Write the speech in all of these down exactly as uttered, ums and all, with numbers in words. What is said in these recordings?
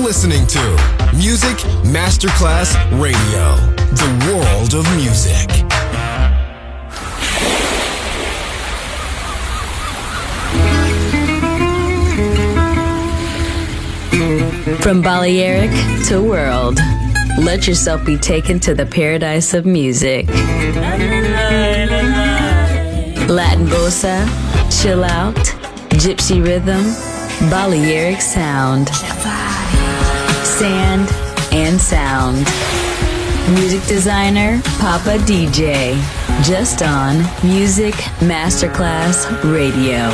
listening to Music Masterclass Radio, the world of music. From Balearic to world, let yourself be taken to the paradise of music. Latin bossa, chill out, gypsy rhythm, Balearic sound, sand and sound. Music designer, Papa D J, just on Music Masterclass Radio.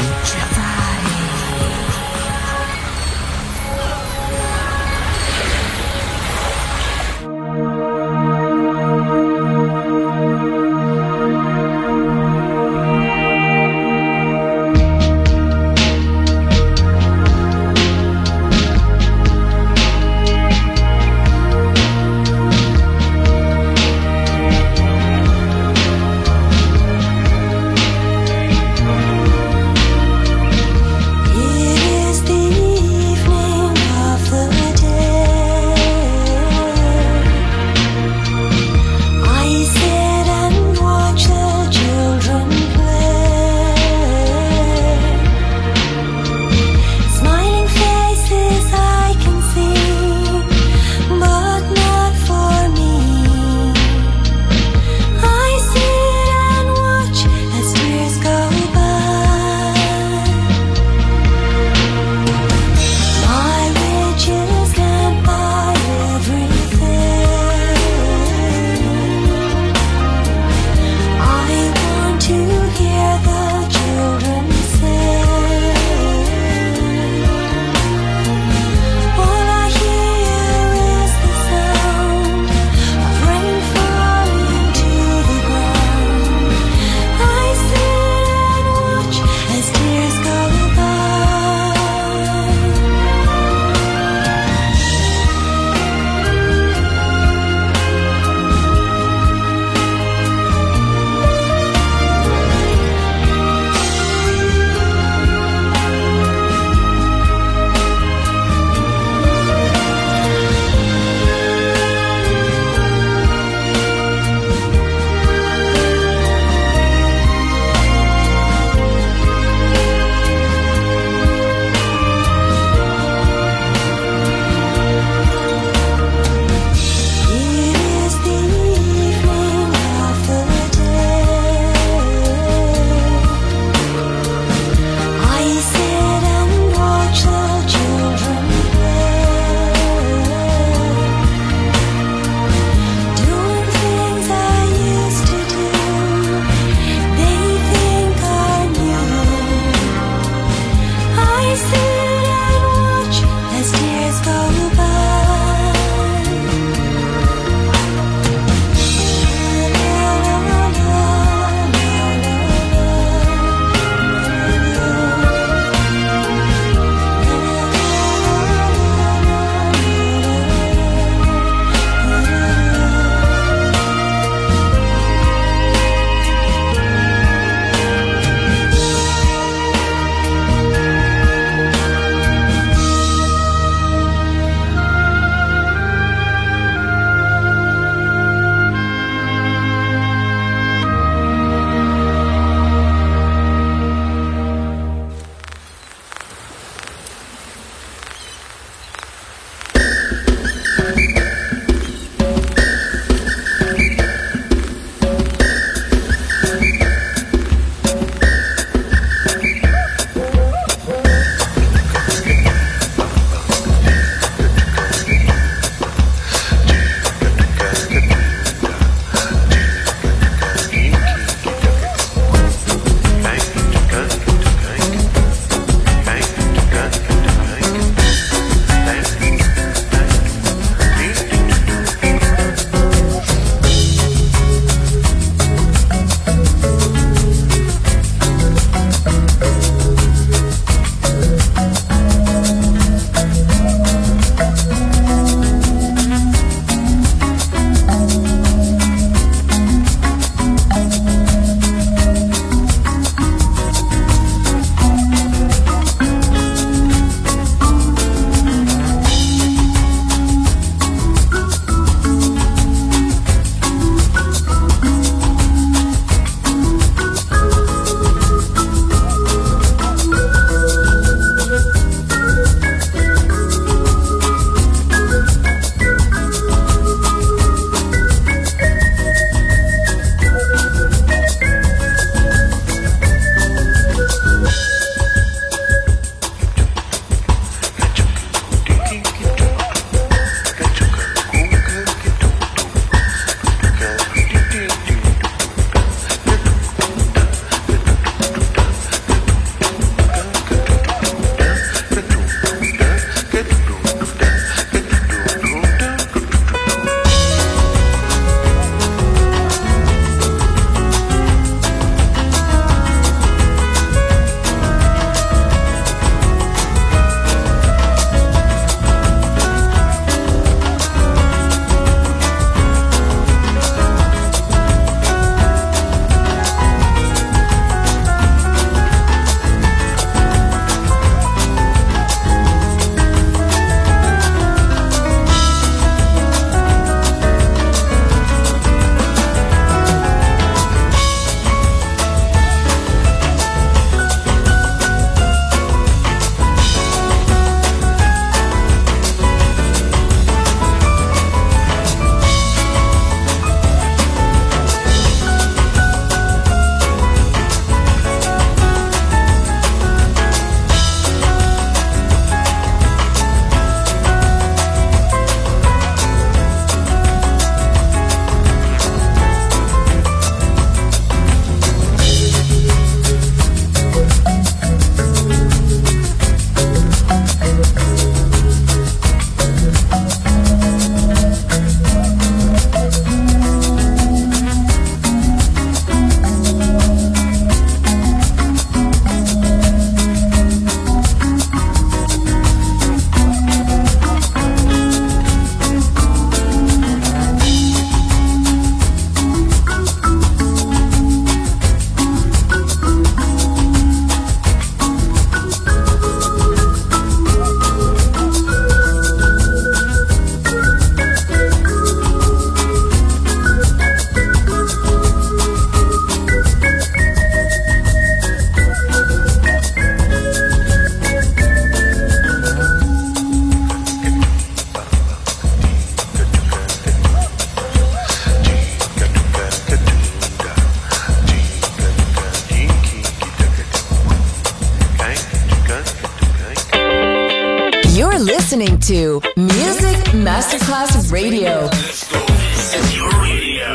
to Music Masterclass Radio. This is your radio.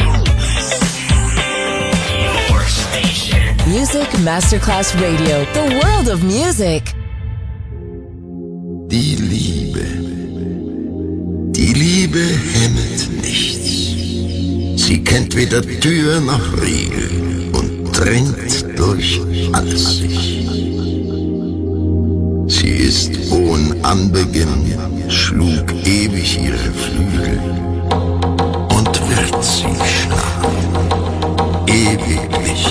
Your station. Music Masterclass Radio. The world of music. Die Liebe. Die Liebe hemmt nichts. Sie kennt weder Tür noch Riegel und dringt durch alles. Sie ist ohne Anbeginn, schlug ewig ihre Flügel und wird sie schlagen, ewiglich.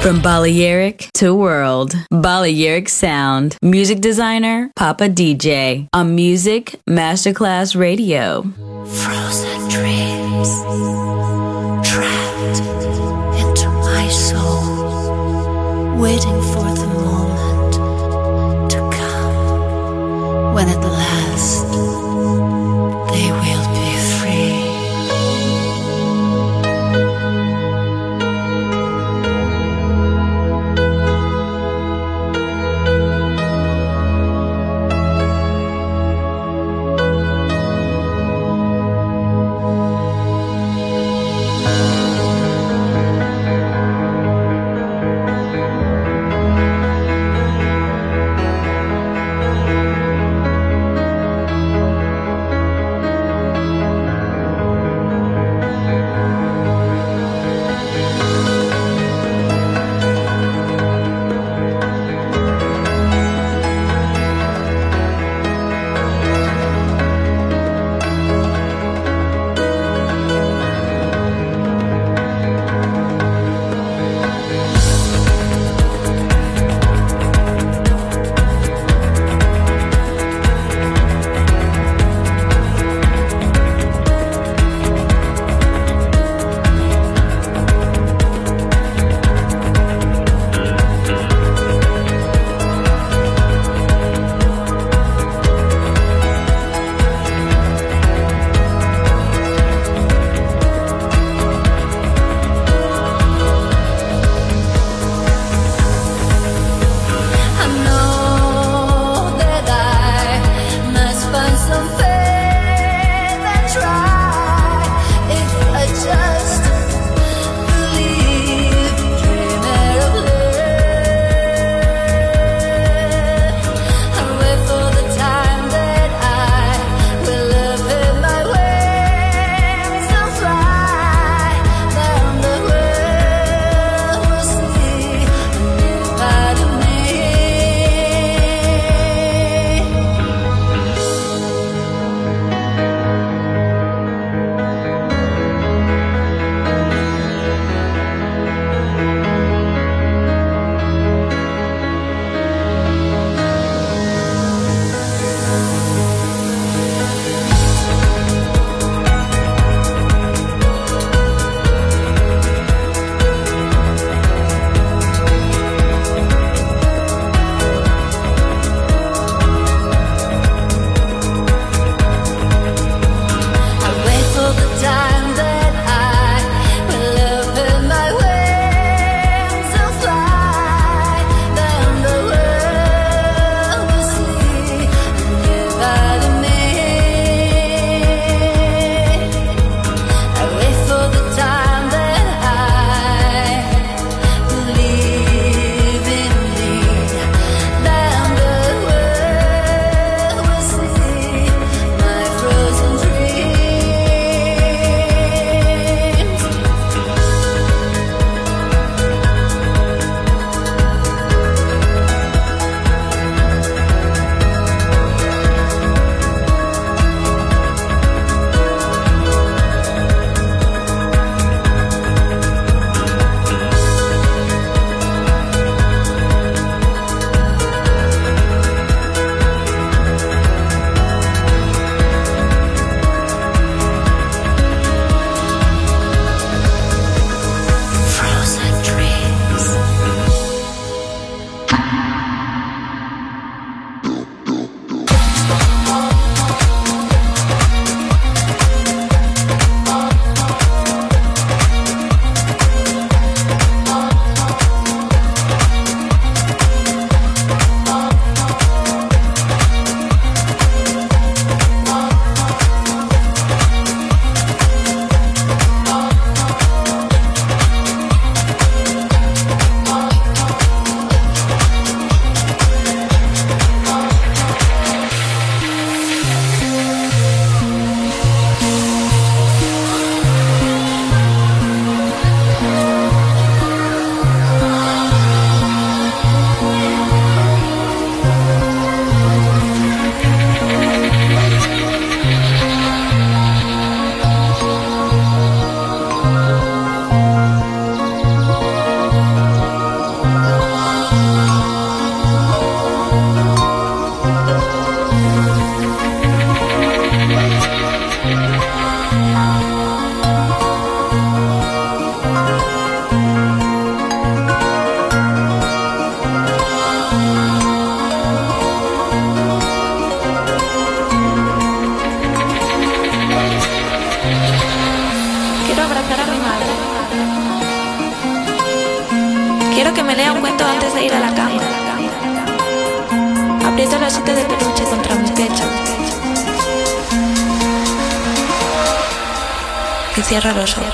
From Balearic to world, Balearic Sound. Music designer, Papa D J. On Music Masterclass Radio. Frozen dreams trapped into my soul, waiting for the moment to come when at last they will be free. Quiero que me lea un cuento antes de ir a la cama. Aprieto el osito de peluche contra mi pecho y cierro los ojos.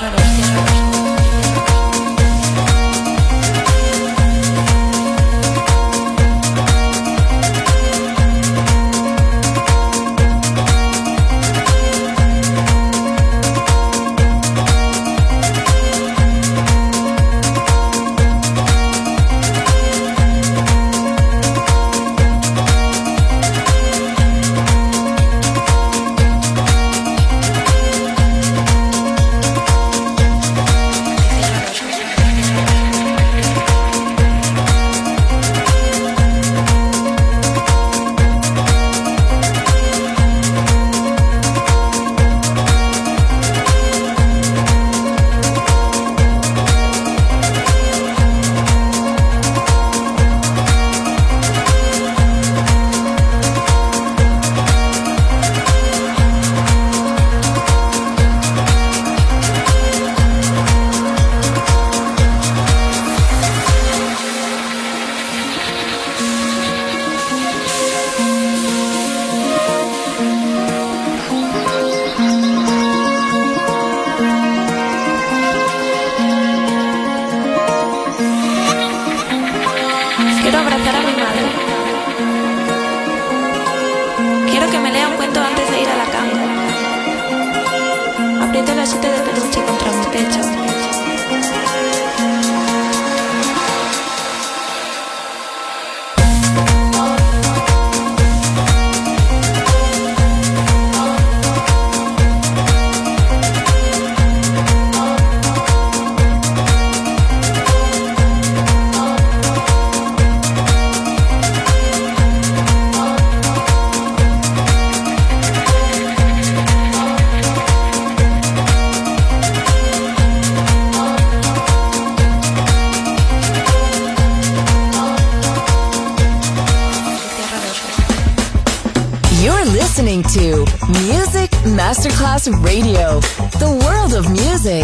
listening to Music Masterclass Radio, the world of music.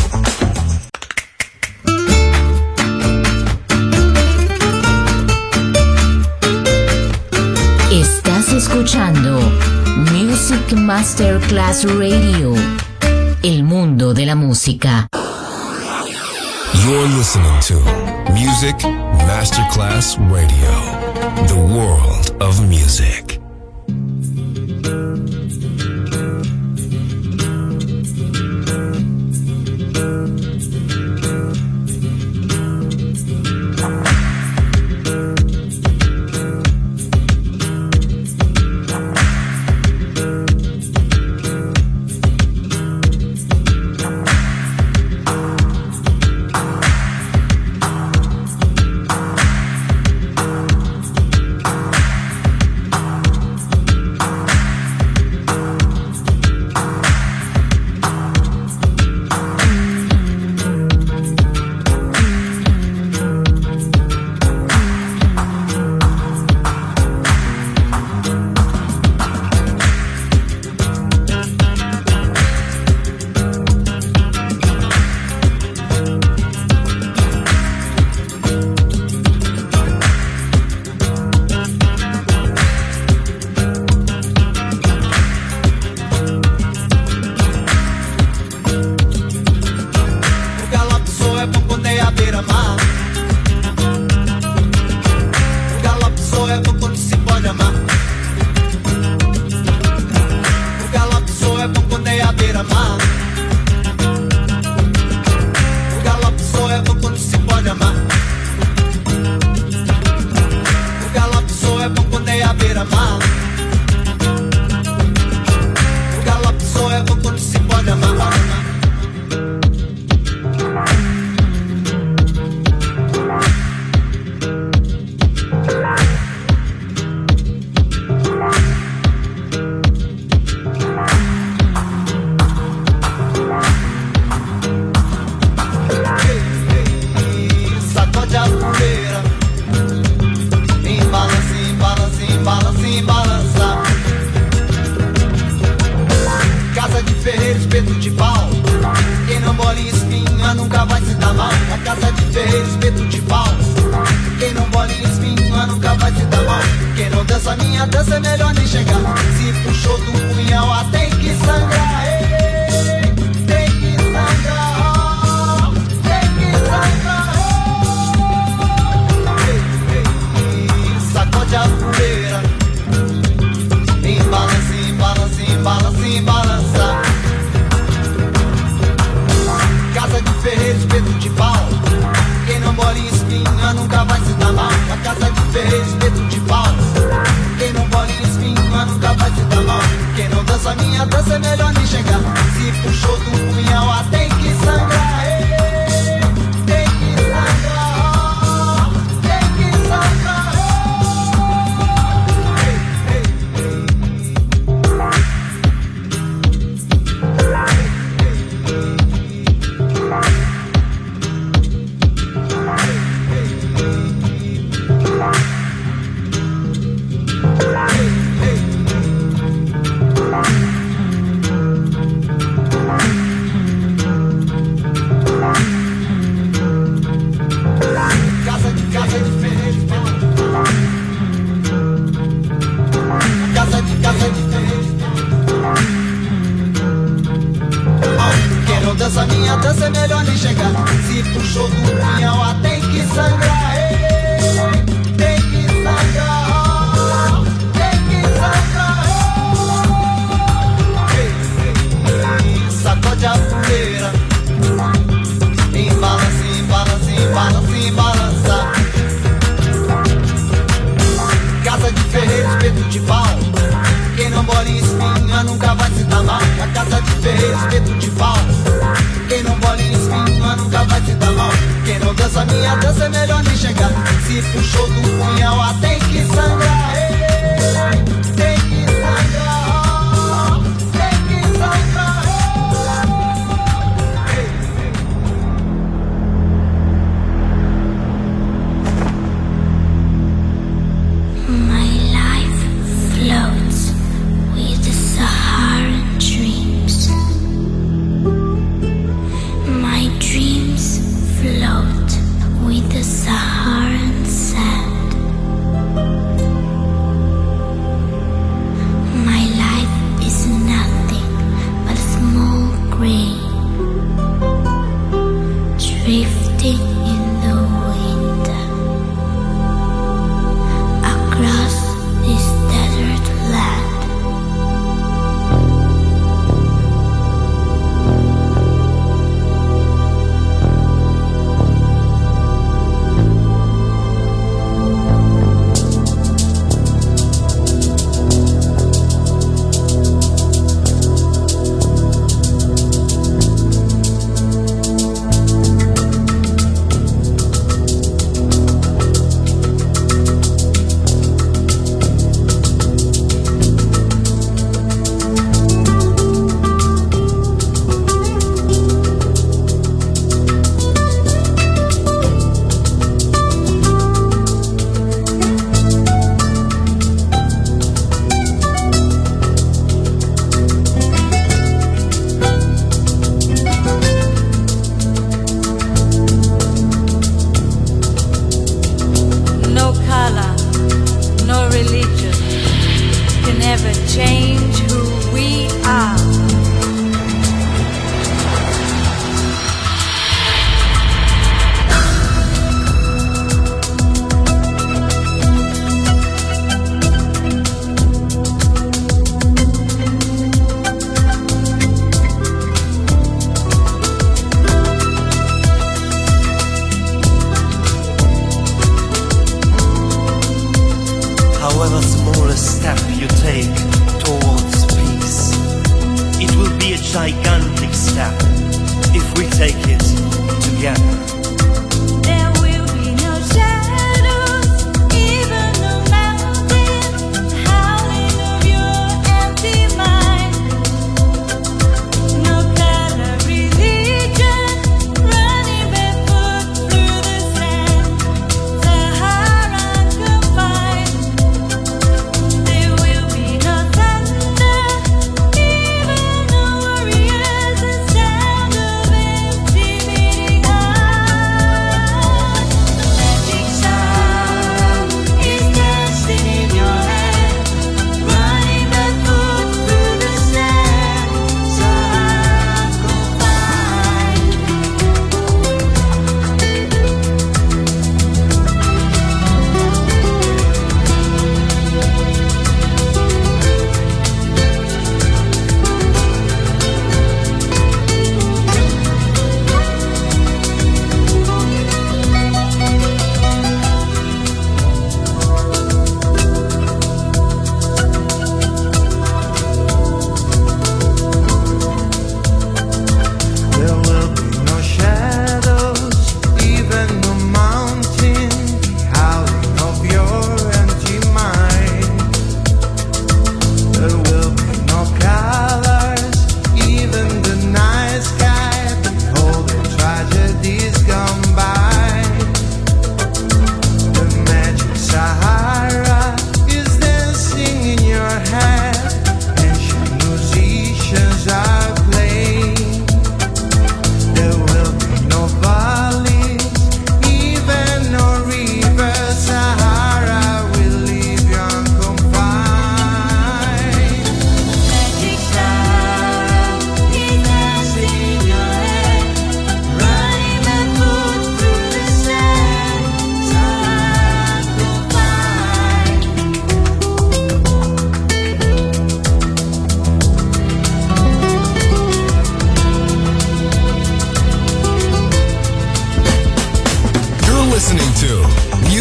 Estás escuchando Music Masterclass Radio, el mundo de la música. You're listening to Music Masterclass Radio, the world of music. se dar mal. A casa de ferreiro, espeto de pau. Quem não bola em espinha nunca vai se dar mal. Quem não dança minha dança é melhor nem chegar. Se puxou do punhal, ah, tem que sangrar. Ei, tem que sangrar. Tem que sangrar. Ei, ei, ei, sacode a poeira. Embalança, embalança, embalança, embalança. Casa de ferreiro, espeto de pau. Quem não bola em espinha nunca vai se dar mal. A casa de ferreiro, espeto de pau. Quem não bola em espinha nunca vai se dar mal. Quem não dança minha dança é melhor nem chegar. Se puxou do punhal, ah, tem que sangrar. Ei, tem que sangrar. Tem que sangrar. Ei, ei, dança minha dança é melhor nem chegar. Se puxou do punhal, ah, tem que sangrar. Ei, tem que sangrar. Tem que sangrar. Ei, ei, sacode a poeira. Embalança, embalança, embalança, embalança. Casa de ferreiro, espeto de pau. Quem não bola em espinha nunca vai se dar mal. A casa de ferreiro, espeto de pau. Quem não bola em espinha nunca vai se dar mal. Quem não dança minha dança é melhor nem chegar. Se puxou do punhal, ah, tem que sangrar. Ei, tem que sangrar. Tem que sangrar. Ei, My life floats with the Saharan dreams. My dreams float with the Saharan sand. My life is nothing but a small grain drifting in the wind across this desert land. However small a step you take towards peace, it will be a gigantic step if we take it together. There will be no shadows, even no mountains, howling of your empty mind. No color religion, running barefoot through the sand, Saharan confined. There will be no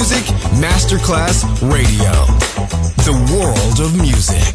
Music Masterclass Radio. The world of music.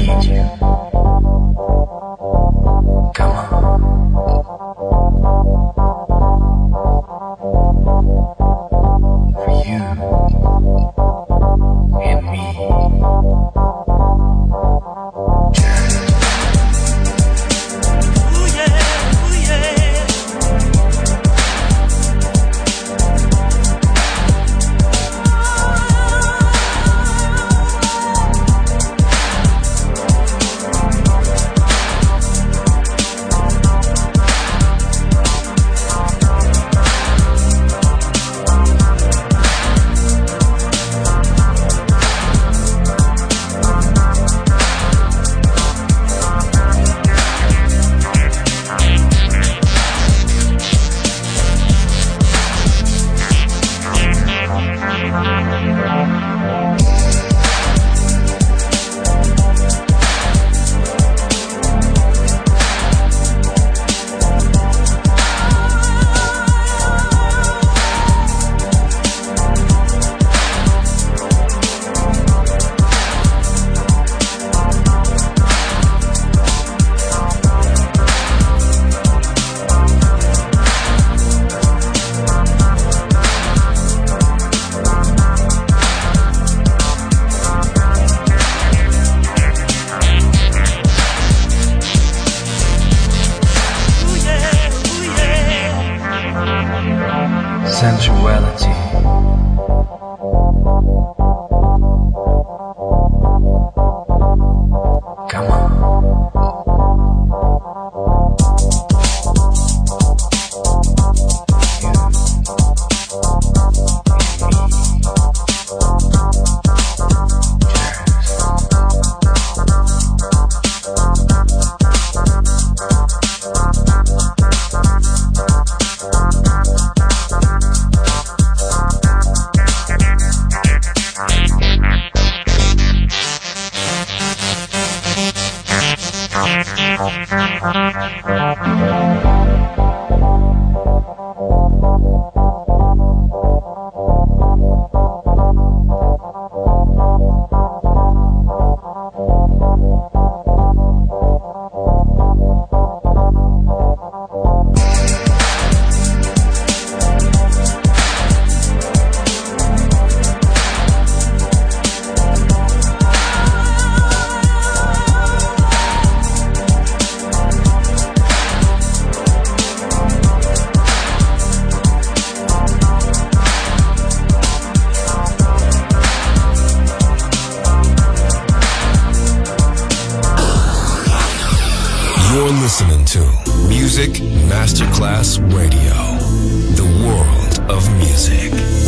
need you. Come on. For you and me. Ooh yeah, ooh yeah. Sensuality. Come on. You're listening to Music Masterclass Radio, the world of music.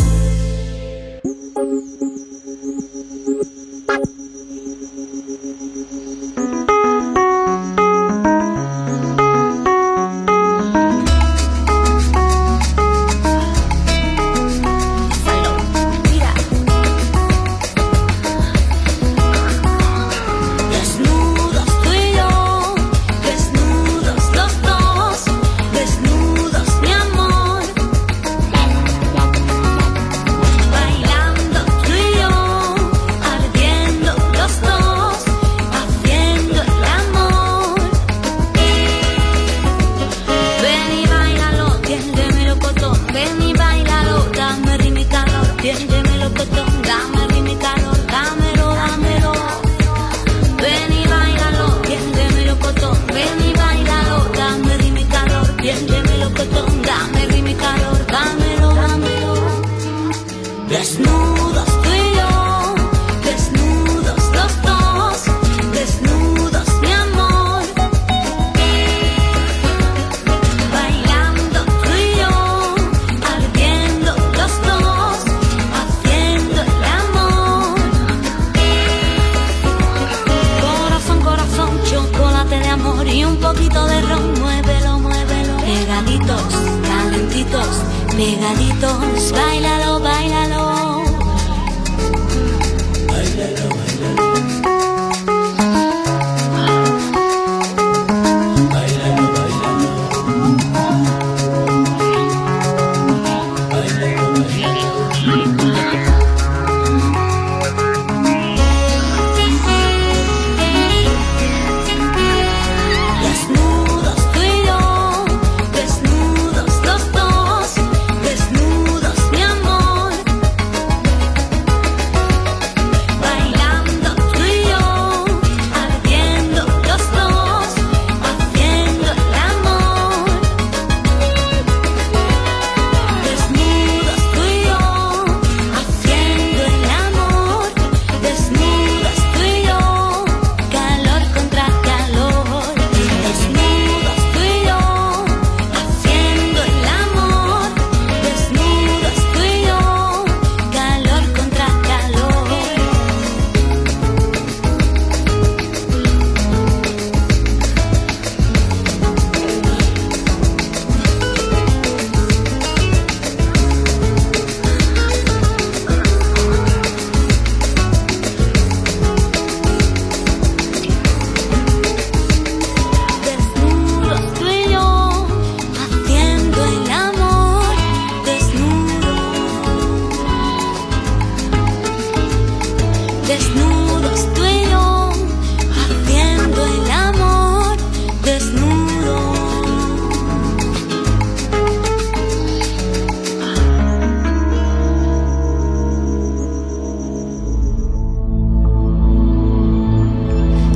Pegaditos, báilalo, báilalo. Báilalo, báilalo. Báilalo, báilalo. Báilalo, báilalo.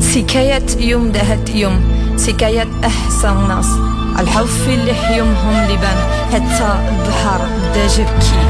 سكاية يوم دهت يوم سكاية أحسن ناس الحوف اللي يومهم لبان حتى البحر بدا جبكي.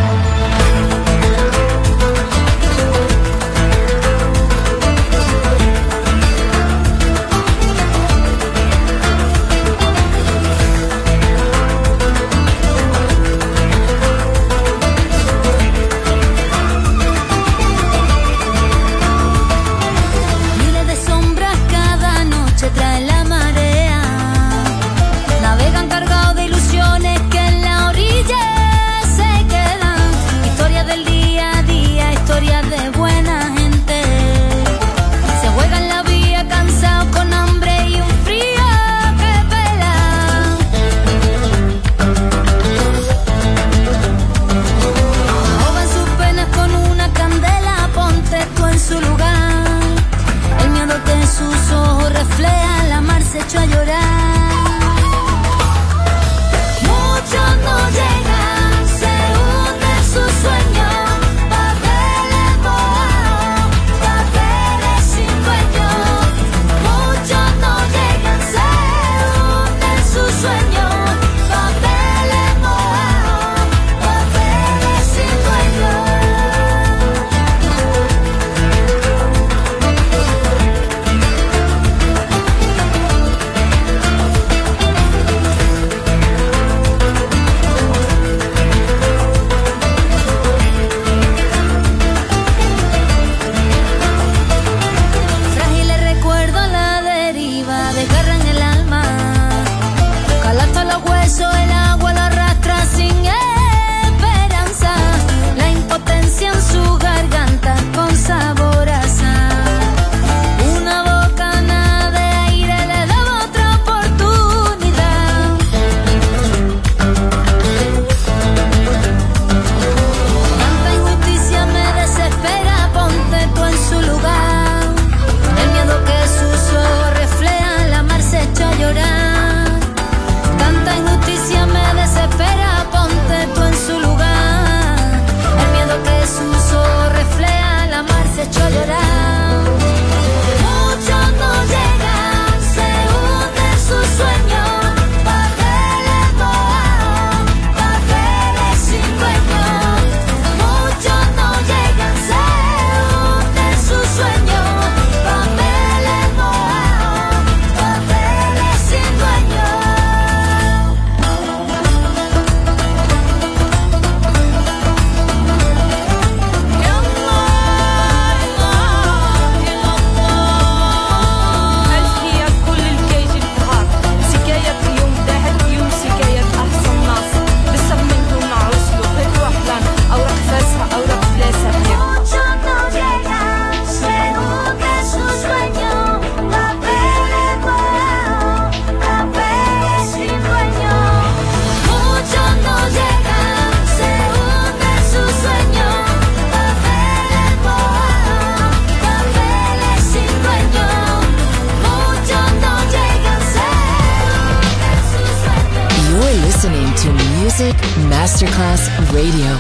Music Masterclass Radio.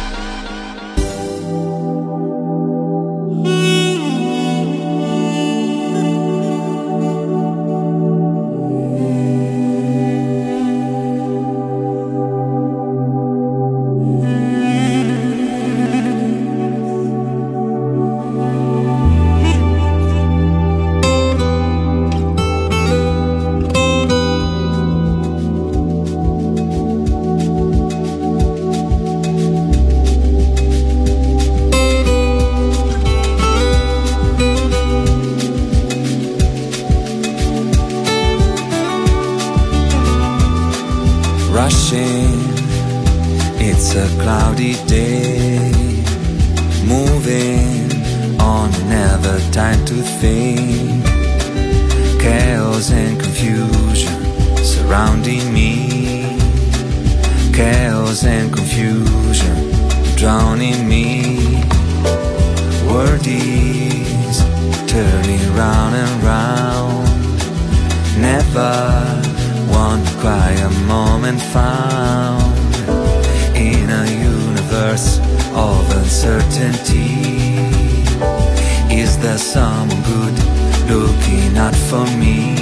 It's a cloudy day, moving on, never time to think. Chaos and confusion surrounding me. Chaos and confusion drowning me. World is turning round and round. Never one quiet moment found in a universe of uncertainty. Is there someone good looking out for me.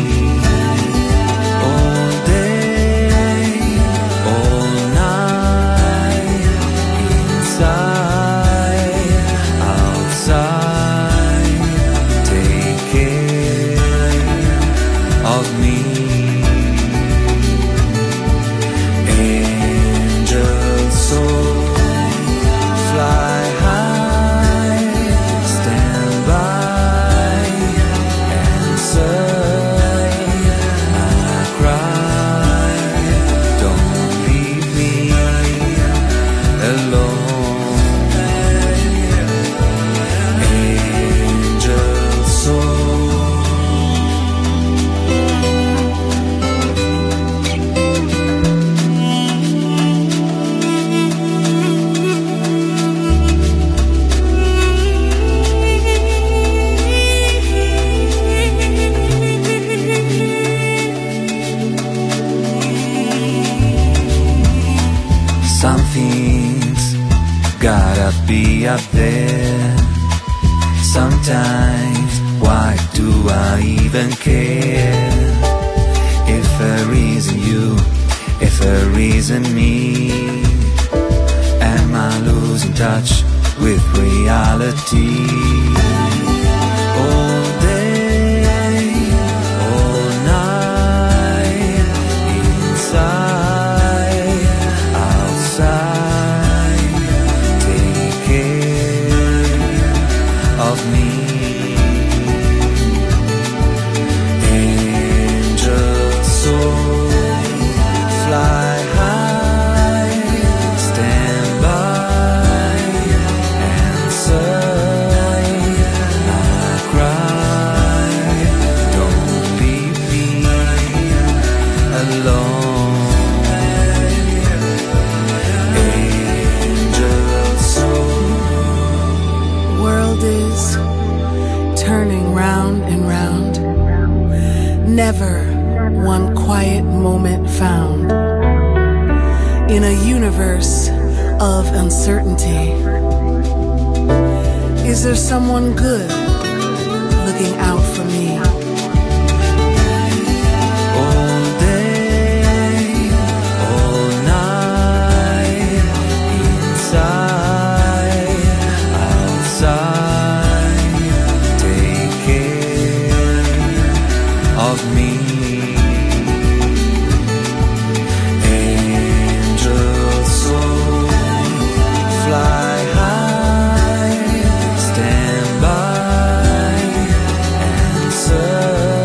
All day, all night, inside, outside, take care of me. Angel soul, fly high, stand by, answer my cry. Don't leave me alone. Angel soul. Something's gotta be up there. Sometimes, why do I even care? If a reason you, if a reason me, am I losing touch with reality? All day, all night, inside, outside, take care of me. Angel soul, fly high, stand by, answer my cry. Don't leave me alone. Angel soul. World is turning round and round. Never one quiet moment found. In a universe of uncertainty, is there someone good looking out for me? All day, all night, inside, outside, take care of me. Angel soul, fly high, stand by, answer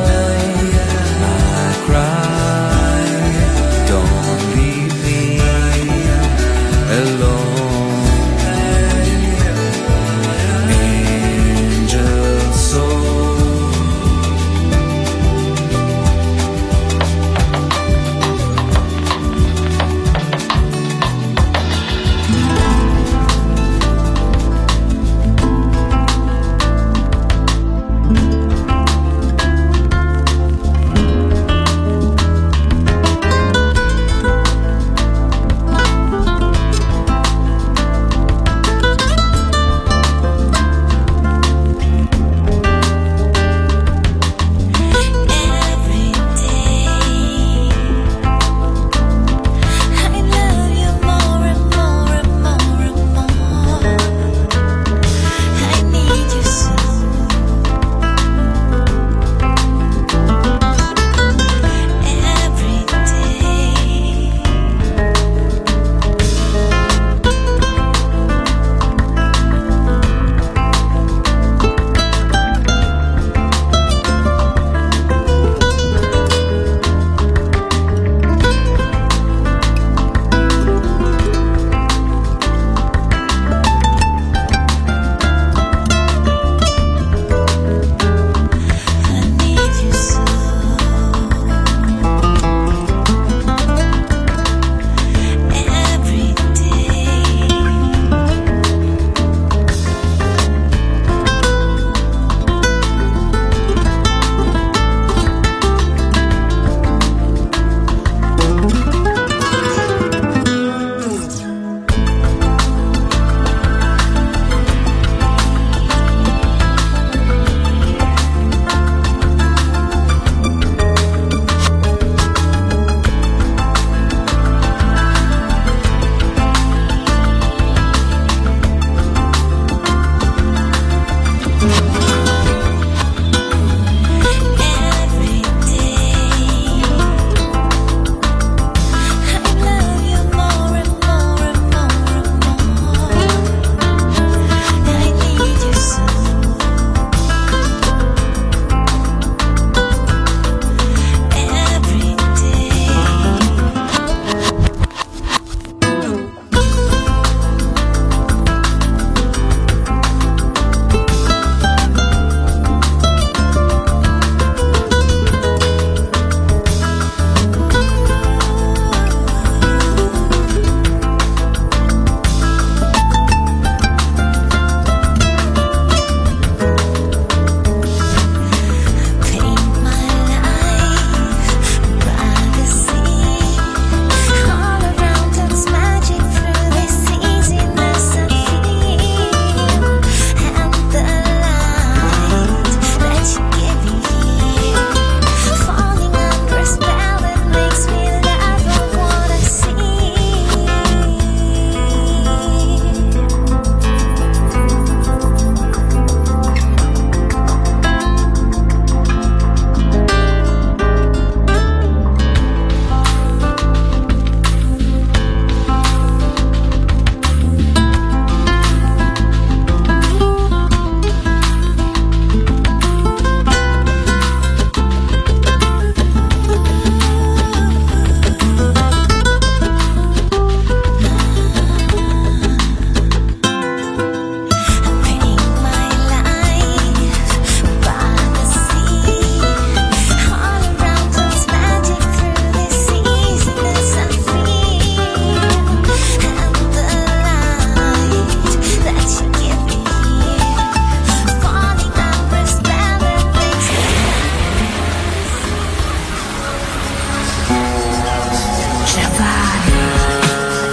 my cry. Don't leave me alone. Angel soul.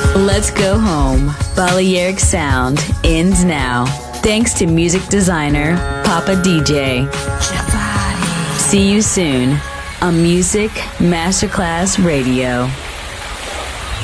Let's go home. Balearic Sound ends now. Thanks to music designer Papa D J. See you soon on Music Masterclass Radio.